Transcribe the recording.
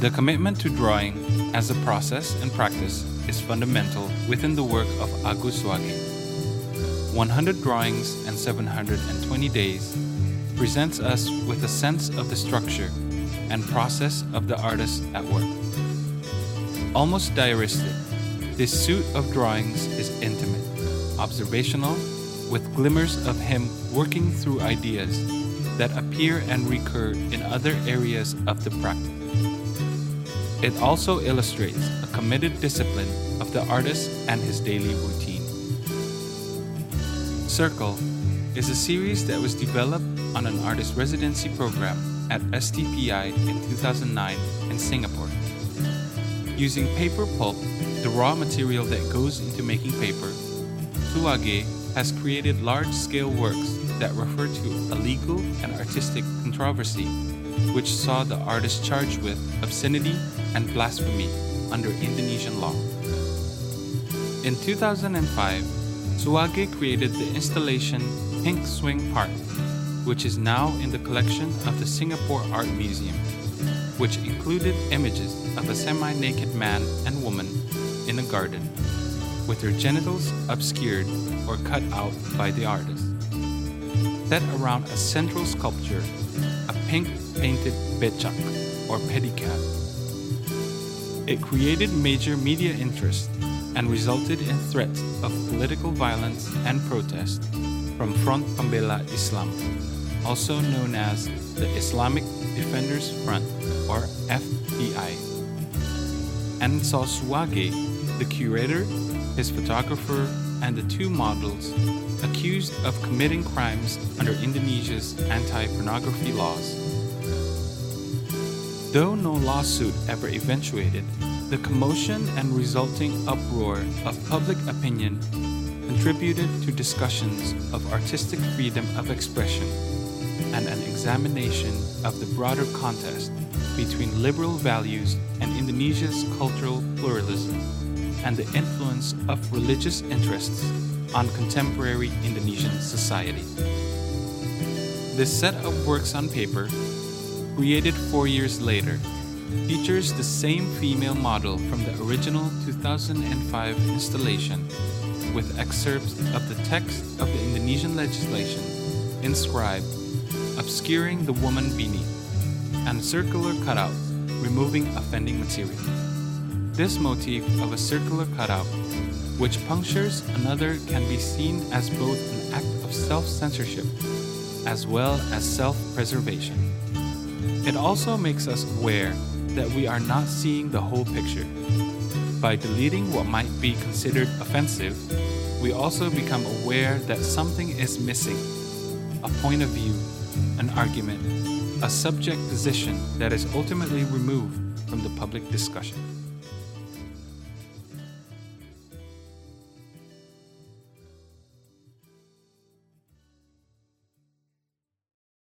The commitment to drawing as a process and practice is fundamental within the work of Agus Suwagi. 100 Drawings and 720 Days presents us with a sense of the structure and process of the artist at work. Almost diaristic, this suite of drawings is intimate, observational, with glimmers of him working through ideas that appear and recur in other areas of the practice. It also illustrates a committed discipline of the artist and his daily routine. Circle is a series that was developed on an artist residency program at STPI in 2009 in Singapore. Using paper pulp, the raw material that goes into making paper, Suwagi has created large-scale works that refer to a legal and artistic controversy, which saw the artist charged with obscenity and blasphemy under Indonesian law. In 2005, Suwagi created the installation Pink Swing Park, which is now in the collection of the Singapore Art Museum, which included images of a semi-naked man and woman in a garden, with their genitals obscured or cut out by the artist. Set around a central sculpture, a pink painted becak or pedicab. It created major media interest and resulted in threats of political violence and protest from Front Pembela Islam, also known as the Islamic Defenders Front or FDI, and saw Suwagi, the curator, his photographer, and the two models accused of committing crimes under Indonesia's anti-pornography laws. Though no lawsuit ever eventuated, the commotion and resulting uproar of public opinion contributed to discussions of artistic freedom of expression and an examination of the broader contest between liberal values and Indonesia's cultural pluralism and the influence of religious interests on contemporary Indonesian society. This set of works on paper, created 4 years later, features the same female model from the original 2005 installation, with excerpts of the text of the Indonesian legislation inscribed, obscuring the woman beneath, and circular cutout, removing offending material. This motif of a circular cutout, which punctures another, can be seen as both an act of self-censorship as well as self-preservation. It also makes us aware that we are not seeing the whole picture. By deleting what might be considered offensive, we also become aware that something is missing, a point of view, an argument, a subject position that is ultimately removed from the public discussion.